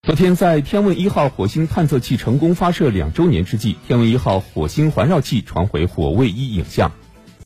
昨天，在天问1号火星探测器成功发射2周年之际，天问1号火星环绕器传回火卫1影像。